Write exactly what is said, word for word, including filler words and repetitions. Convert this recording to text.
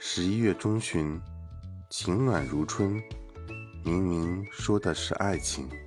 十一月中旬，晴暖如春，明明说的是爱情。